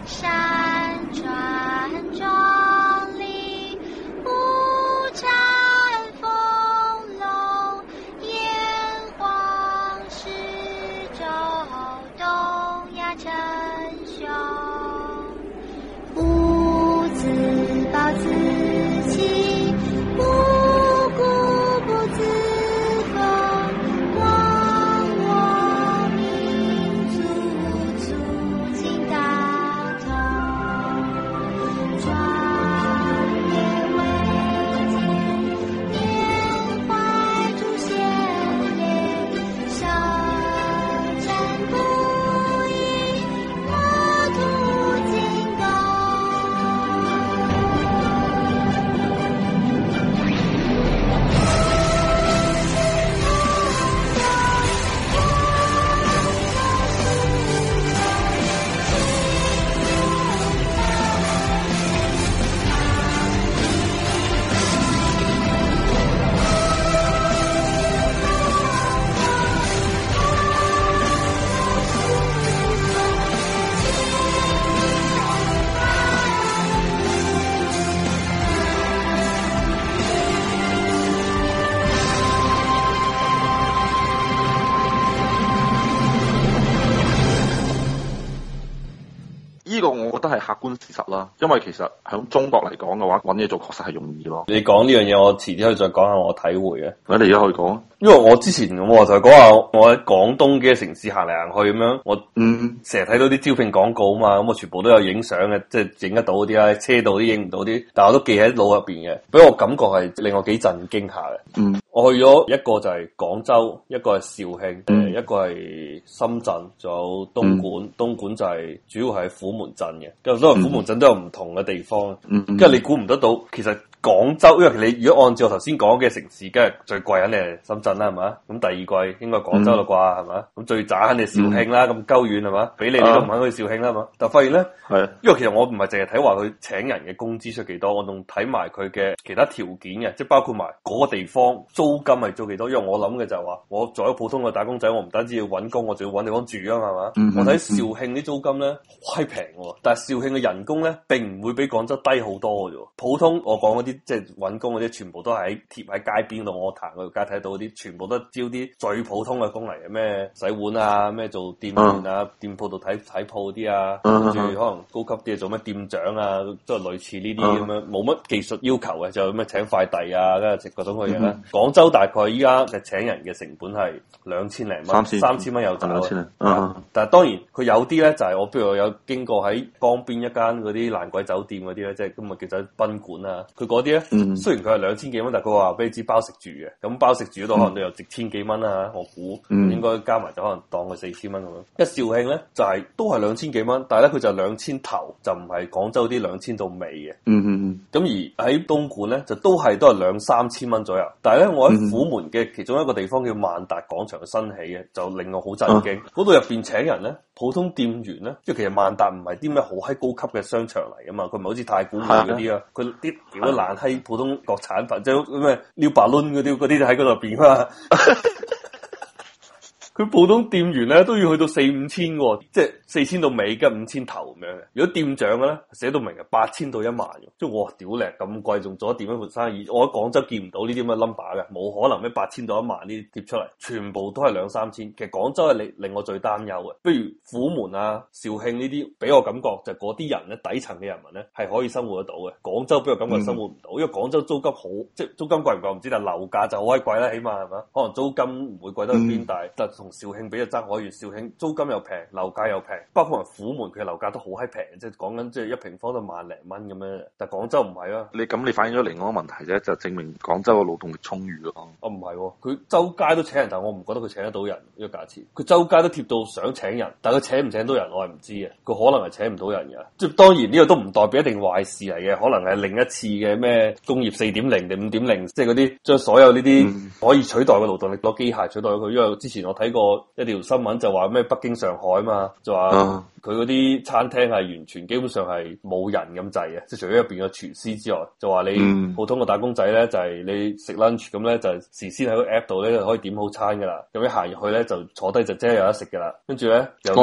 山川壮丽，五展丰隆，炎黄始周，东亚称雄。吾自暴自弃，无故不自封。忘我民族，促进大同。壮烈维艰，缅怀祖先烈，少战不已，莫图进攻。 呢個我覺得係客觀事實啦，因為其實喺中國嚟講嘅話，揾嘢做確實係容易咯。 你講呢樣嘢，我遲啲可以再講下我體會嘅。 咁你而家可以講， 因為我之前我就講下我喺廣東嘅城市行嚟行去咁樣，我成日睇到啲招聘廣告啊嘛，咁我全部都有影相嘅，即係影得到嗰啲啦，車度啲影唔到啲，但係我都記喺腦入邊嘅，俾我感覺係令我幾震驚下嘅。我去咗一個就係廣州，一個係肇慶，一個係深圳，仲有東莞。東莞就係主要係虎門鎮嘅，因為都係虎門鎮都有唔同嘅地方。跟住你估唔得到，其實廣州，因為你如果按照我頭先講嘅城市，梗係最貴肯定係深圳啦，係嘛？咁第二貴應該廣州啦啩，係嘛？咁最渣肯定肇慶啦，咁鳩遠係嘛？俾你都唔肯去肇慶啦，係嘛？但發現咧，因為其實我唔係淨係睇話佢請人嘅工資出幾多，我仲睇埋佢嘅其他條件嘅，即係包括埋嗰個地方租金係租幾多。因為我諗嘅就係話，我作為一個普通嘅打工仔，我唔單止要揾工，我仲要揾地方住啊嘛，係嘛？我睇肇慶啲租金咧好閪平喎，但係肇慶嘅人工咧並唔會比廣州低好多嘅啫。普通我講嗰啲即係揾工嗰啲，全部都係貼喺街邊度，我行嗰條街睇到嗰啲，全部都招啲最普通嘅工嚟嘅，咩洗碗啊，咩做店員啊，店鋪度睇鋪啲啊，跟住可能高級啲做咩店長啊，即係類似呢啲咁樣，冇乜技術要求嘅，就咩請快遞啊，跟住食各種嘅嘢啦。廣州大概依家嘅請人嘅成本係2000零蚊，3000蚊有找。但係當然佢有啲咧就係我譬如我有經過喺江邊一間嗰啲爛鬼酒店嗰啲咧，即係今日叫做賓館啊，佢嗰啲咧雖然佢係2000幾蚊，但係佢話俾你知包食住嘅，咁包食住嗰度可能都有值千幾蚊啦，我估應該加埋就可能當佢4000蚊咁樣。一肇慶咧就係都係2000幾蚊，但係咧佢就2000頭，就唔係廣州啲2000到尾嘅。咁而喺東莞咧就都係2-3千蚊左右，但係咧我喺虎門嘅其中一個地方叫萬達廣場新起嘅，就令我好震驚。嗰度入邊請人咧，普通店員咧，即係其實萬達唔係啲咩好閪高級嘅商場嚟噶嘛，佢唔係好似太古匯嗰啲啊，佢啲屌都爛閪普通國產品，即係咩撩白輪嗰啲就喺嗰度邊啊。佢普通店員咧都要去到4-5千喎，即係4000到尾跟5000頭咁樣嘅。如果店長嘅咧寫到明係8000到1萬嘅，即係我屌叻咁貴，仲做咗店一盤生意。我喺廣州見唔到呢啲咁嘅 number 嘅，冇可能咩8000到1萬呢啲貼出嚟，全部都係2-3千。其實廣州係令我最擔憂嘅，不如虎門啊、肇慶呢啲，俾我感覺就嗰啲人咧底層嘅人民咧係可以生活得到嘅。廣州俾我感覺生活唔到，因為廣州租金好，即係租金貴唔貴唔知，但係樓價就好閪貴啦，起碼係嘛？可能租金唔會貴得去邊，但係同肇慶比就爭可遠。肇慶租金又平，樓價又平，包括埋虎門佢嘅樓價都好閪平，即係講緊即係1平方都萬零蚊咁樣。但係廣州唔係啊， 你反映咗另外一個問題啫，就證明廣州嘅勞動力充裕咯。 哦唔係，佢周街都請人，但係我唔覺得佢請得到人呢個價錢。佢周街都貼到想請人，但係佢請唔請到人我係唔知嘅。佢可能係請唔到人嘅，即係當然呢個都唔代表一定壞事嚟嘅，可能係另一次嘅咩工業4.0定5.0，即係嗰啲將所有呢啲可以取代嘅勞動力攞機械取代咗佢。因為之前我睇過一條新聞就話咩北京、上海嘛，就話佢嗰啲餐廳係完全基本上係冇人咁滯嘅，即係除咗入邊嘅廚師之外，就話你普通嘅打工仔咧就係你食 lunch 咁咧就事先喺個 app 度咧就可以點好餐噶啦，咁一行入去咧就坐低就即係有得食噶啦，跟住咧有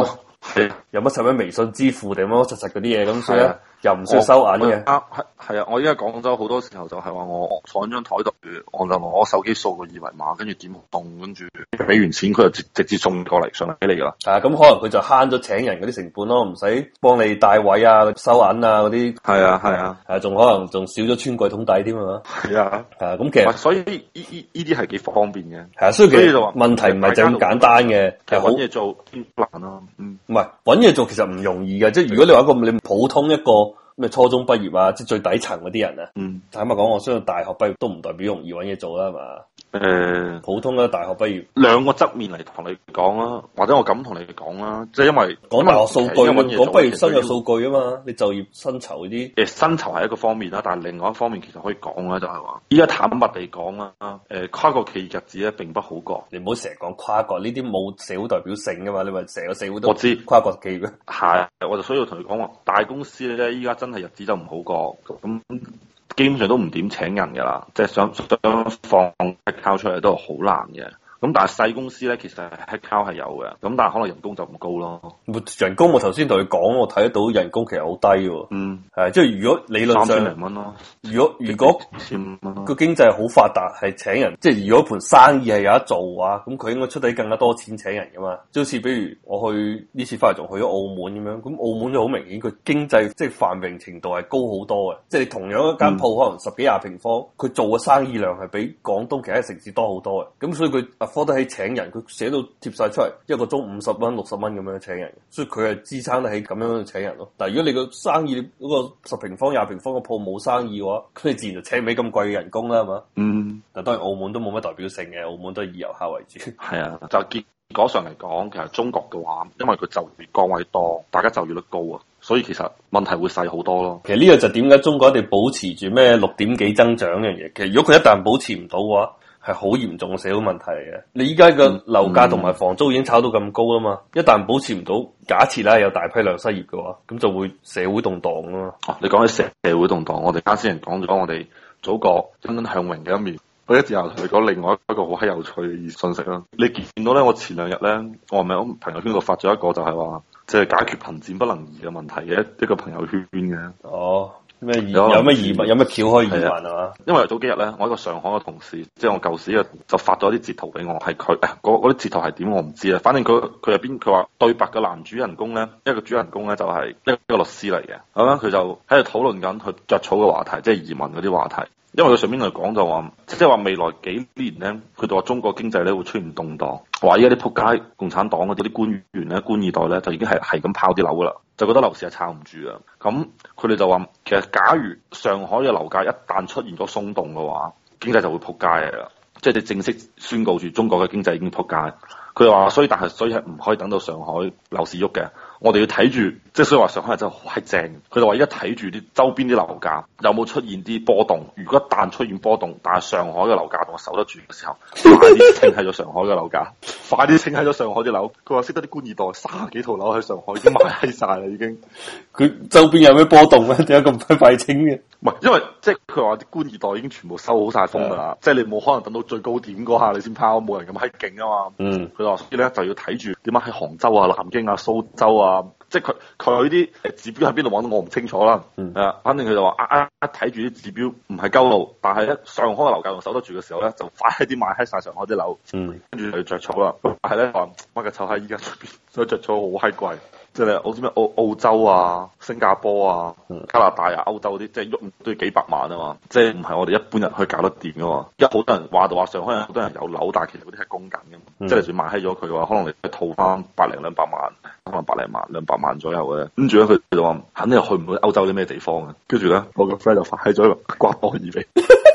有乜使乜微信支付定乜乜柒柒嗰啲嘢，咁所以又唔需要收銀嘅。 係啊，我依家廣州好多時候就係話我坐喺張台度，我就攞手機掃個二維碼，跟住點動，跟住俾完錢佢就直接送過嚟上嚟俾你噶啦。 咁可能佢就慳咗請人嗰啲成本咯，唔使幫你帶位啊、收銀啊嗰啲。係啊，仲可能仲少咗穿櫃桶底添啊。係啊，咁其實所以呢啲係幾方便嘅。 係啊，所以其實問題唔係就咁簡單嘅。 其實揾嘢做難咯。 唔係揾嘢做其實唔容易嘅，即係如果你話一個你普通一個咩初中畢業啊，即係最底層嗰啲人啊，坦白講，我相信大學畢業都唔代表容易揾嘢做啦，係嘛？普通嘅大學畢業， 兩個側面嚟同你講啦，或者我咁同你講啦，即係因為講大學數據，講畢業生嘅數據啊嘛，你就業薪酬嗰啲， 薪酬係一個方面啦，但係另外一方面其實可以講咧，就係話依家坦白地講啦，跨國企業日子咧並不好過。 你唔好成日講跨國呢啲冇社會代表性噶嘛，你話成個社會都我知跨國企業。 係，我就需要同你講話，大公司咧依家真係日子就唔好過，咁基本上都唔點請人噶啦，即係想放 headcount 出嚟都係好難嘅。咁但係細公司咧，其實 headcount 係有嘅，咁但係可能人工就唔高咯。 人工我頭先同你講，我睇得到人工其實好低喎。係即係如果理論上 3000零蚊咯。 如果個經濟好發達，係請人，即係如果盤生意係有得做嘅話，咁佢應該出得更加多錢請人噶嘛。即好似比如我去呢次翻嚟仲去咗澳門咁樣，咁澳門就好明顯佢經濟即係繁榮程度係高好多嘅。即係你同樣一間鋪可能10幾20平方，佢做嘅生意量係比廣東其他城市多好多嘅。咁所以佢科得起請人，佢寫到貼晒出嚟，一個鐘50蚊、60蚊咁樣請人，所以佢係支撐得起咁樣去請人咯。但係如果你個生意嗰個10平方、20平方個鋪冇生意嘅話，咁你自然就請唔起咁貴嘅人工啦，係嘛？但當然澳門都冇乜代表性嘅，澳門都係以遊客為主。 係啊，就結果上嚟講，其實中國嘅話，因為佢就業崗位多，大家就業率高啊，所以其實問題會細好多咯。 其實呢個就點解中國一定保持住咩6點幾增長呢樣嘢？其實如果佢一旦保持唔到嘅話，係好嚴重嘅社會問題嚟嘅。你依家嘅樓價同埋房租已經炒到咁高啦嘛，一旦保持唔到，假設啦有大批量失業嘅話，咁就會社會動盪啊嘛。 你講起社會動盪，我哋啱先講咗我哋祖國欣欣向榮嘅一面。我一直又同你講另外一個好閪有趣嘅信息啦。你見到咧，我前2日咧，我係咪喺朋友圈度發咗一個就係話，即係解決貧賤不能移嘅問題嘅一個朋友圈嘅。 哦。咩有咩移民有咩橋可以移民係嘛？ 因為早幾日咧，我一個上海嘅同事，即係我舊時嘅，就發咗啲截圖俾我，係佢嗰啲截圖係點我唔知啊。反正佢入邊佢話對白嘅男主人公咧，一個主人公咧就係一個律師嚟嘅，咁樣佢就喺度討論緊佢著草嘅話題，即係移民嗰啲話題。因為佢上邊嚟講就話，即係話未來幾年咧，佢就話中國經濟咧會出現動盪，話依家啲仆街共產黨嗰啲官員咧、官二代咧就已經係咁拋啲樓噶啦，就覺得樓市係撐唔住啊。咁佢哋就話，其實假如上海嘅樓價一旦出現咗鬆動嘅話，經濟就會仆街嘅啦。即係你正式宣告住中國嘅經濟已經仆街。佢話所以係唔可以等到上海樓市喐嘅。我哋要睇住，即係所以話上海真係好閪正。佢就話而家睇住啲周邊啲樓價有冇出現啲波動。如果一旦出現波動，但係上海嘅樓價仲守得住嘅時候，快啲清喺咗上海嘅樓價，快啲清喺咗上海啲樓。佢話識得啲官二代30幾套樓喺上海已經賣閪晒啦，已經。 佢周邊有咩波動咧？點解咁快清嘅？ 唔係，因為即係佢話啲官二代已經全部收好晒風㗎啦，即係你冇可能等到最高點嗰下你先拋，冇人咁閪勁啊嘛。佢話所以咧就要睇住點解喺杭州啊、南京啊、蘇州啊。即係佢啲指標喺邊度揾到我唔清楚啦，反正佢就話一睇住啲指標唔係鳩路，但係咧上海嘅樓價仲守得住嘅時候咧，就快啲買喺晒上海啲樓，跟住就要着草啦。但係咧話乜嘅臭閪依家出邊，所以着草好閪貴，即係好似咩澳洲啊、新加坡啊、加拿大啊、歐洲啲，即係喐都要幾百萬啊嘛，即係唔係我哋一般人可以搞得掂噶嘛。一好多人話就話上海好多人有樓，但係其實嗰啲係供緊嘅嘛，即係你仲買閪咗佢嘅話，可能你套翻100零200萬。可能100零萬、200萬左右嘅，跟住咧佢就話肯定去唔到歐洲啲咩地方嘅，跟住咧我個 friend 就發起咗一個厄瓜多爾俾，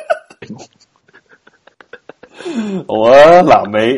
好啊，南美，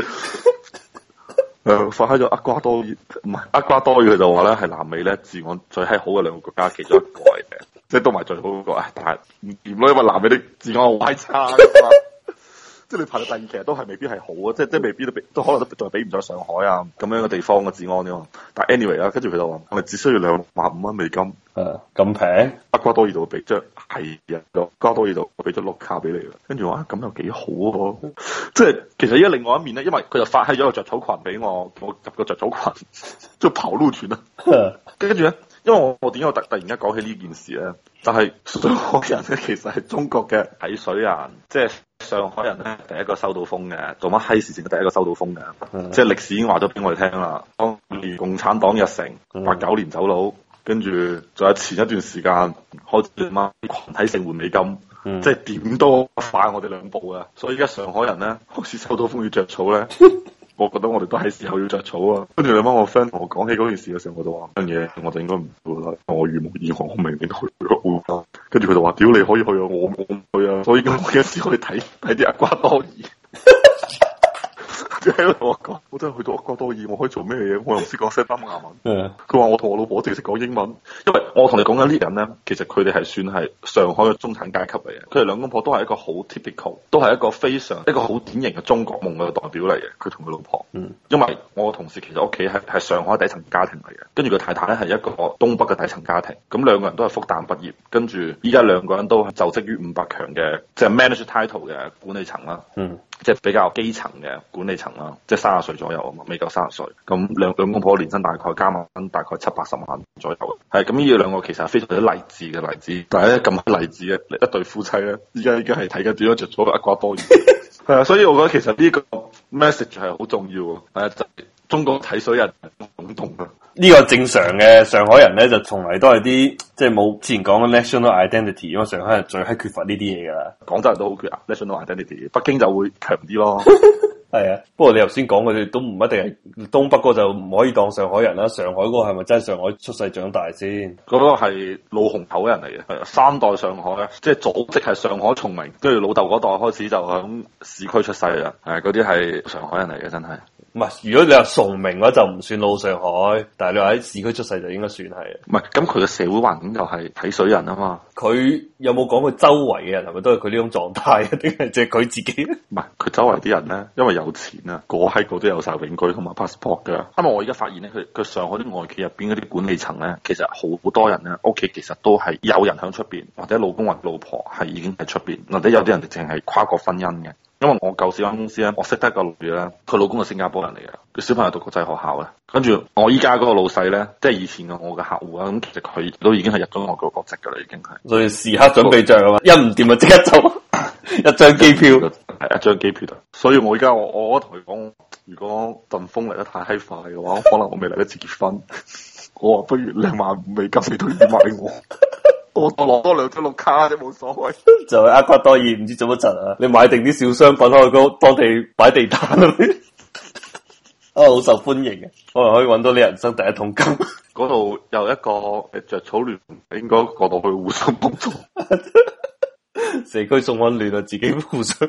發起咗厄瓜多爾，唔係厄瓜多爾，佢就話咧係南美咧治安最閪好嘅2個國家其中一個嚟嘅，即係都唔係最好嗰個，但係唔掂咯，因為南美啲治安好閪差。 即係你排到第二，其實都係未必係好啊，即係未必都可能都仲係比唔上上海啊咁樣嘅地方嘅治安啫嘛。但係 anyway 啦，跟住佢就話係咪只需要$25,000？ 咁平？ 厄瓜多爾度俾張係啊，厄瓜多爾度俾咗綠卡俾你啦。跟住話咁又幾好喎，即係其實依家另外一面咧，因為佢就發起咗個着草群俾我入個着草群，即係跑路團啊。跟住咧，因為我點解突然間講起呢件事咧，就係上海人咧其實係中國嘅睇水人，即係上海人咧第一個收到風嘅，做乜閪事情都第一個收到風嘅，即係歷史已經話咗俾我哋聽啦。當年共產黨入城，89年走佬。跟住仲有前一段時間開始乜群體性換美金，即係點都快我哋兩步啊！所以而家上海人咧開始收到風要着草咧，我覺得我哋都係時候要着草啊！跟住你媽我 friend 同我講起嗰件事嘅時候，我就話樣嘢我就應該唔會啦，我如無意外我明年去咗。跟住佢就話：屌你可以去啊，我唔去啊！所以我有時可以睇啲厄瓜多爾。喺度同我講，我真係去到厄瓜多爾，我可以做咩嘢？我又唔識講西班牙文。佢話我同我老婆淨係識講英文，因為我同你講緊呢啲人咧，其實佢哋係算係上海嘅中產階級嚟嘅。佢哋兩公婆都係一個好 typical，都係一個好典型嘅中國夢嘅代表嚟嘅。佢同佢老婆，因為我同事其實屋企係上海底層家庭嚟嘅，跟住佢太太咧係一個東北嘅底層家庭，咁兩個人都係復旦畢業，跟住依家兩個人都係就職於500強嘅，即係 manager title 嘅管理層啦。即係比較基層嘅管理層啦，即係30歲左右啊嘛，未夠30歲。咁兩公婆年薪大概加埋大概70-80萬左右。係咁，呢兩個其實係非常之勵志嘅例子。但係咧咁勵志嘅一對夫妻咧，依家係睇緊點樣着咗厄瓜多爾。係啊，所以我覺得其實呢個 message 係好重要啊。係啊，就係中國睇水人懵懂啊。 呢個正常嘅，上海人咧就從嚟都係啲即係冇之前講嘅 national identity， 因為上海人最係缺乏呢啲嘢噶啦。廣州人都好缺 national identity， 北京就會強啲咯。係啊，不過你頭先講佢哋都唔一定係東北嗰就唔可以當上海人啦。上海嗰個係咪真係上海出世長大先？嗰個係老虹口人嚟嘅，係3代上海啊，即係祖籍係上海崇明，跟住老豆嗰代開始就喺市區出世啦。係嗰啲係上海人嚟嘅，真係。唔係，如果你話崇明嘅話就唔算老上海，但係你話喺市區出世就應該算係。唔係，咁佢嘅社會環境就係睇水人啊嘛。佢有冇講佢周圍嘅人係咪都係佢呢種狀態啊？定係淨係佢自己？唔係，佢周圍啲人咧，因為有錢啊，個都有晒永居同埋 passport 噶。因為我而家發現咧，佢上海啲外企入邊嗰啲管理層咧，其實好多人咧屋企其實都係有人喺出邊，或者老公或老婆係已經喺出邊，或者有啲人淨係跨國婚姻嘅。因為我舊時間公司咧，我識得一個女咧，佢老公係新加坡人嚟嘅，佢小朋友讀國際學校嘅。跟住我依家嗰個老細咧，即係以前嘅我嘅客戶啊，咁其實佢都已經係入咗外國國籍噶啦，已經係。所以時刻準備着啊嘛，一唔掂就即刻走，一張機票係一張機票。所以我依家我同佢講，如果陣風嚟得太閪快嘅話，可能我未嚟得切結婚。我話不如$25,000你都要買我。我攞多2張綠卡啫，冇所謂。就係厄瓜多爾唔知做乜柒啊！你買定啲小商品去嗰當地擺地攤啊！好受歡迎嘅，可能可以搵到你人生第一桶金。嗰度有一個着草聯，應該過到去互相幫助。社區送溫暖啊，自己互相。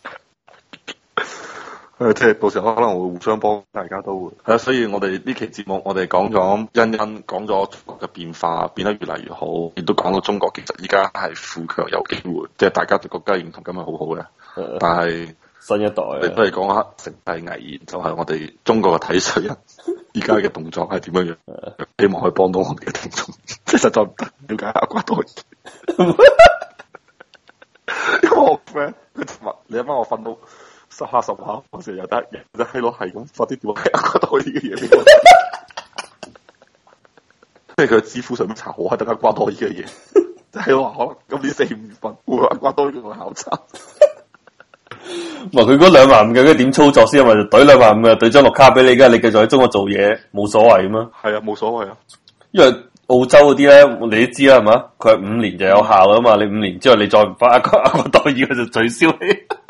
即係到時候可能會互相幫，大家都會係啊。所以我哋呢期節目，我哋講咗講咗中國嘅變化，變得越嚟越好，亦都講到中國其實依家係富強有機會，即係大家對國家認同感係好好嘅。但係新一代，你都係講下城市危言，就係我哋中國嘅睇水人依家嘅動作係點樣樣？希望可以幫到我哋嘅聽眾，即係實在唔得了解厄瓜多爾。因為我 friend 你阿媽我瞓到10下，我成日有得閪佬係咁發啲點解厄瓜多爾嘅嘢俾我，即係佢支付上面查好係得厄瓜多爾嘅嘢，即係話可能今年4、5月份會厄瓜多爾去考察。佢嗰25000嘅點操作先？咪就懟25000嘅，懟張綠卡俾你，而家你繼續喺中國做嘢冇所謂嘛？係啊，冇所謂啊，因為澳洲嗰啲咧，你都知啦，係嘛？佢係5年就有效噶嘛，你5年之後你再唔發厄瓜多爾，佢就取消你。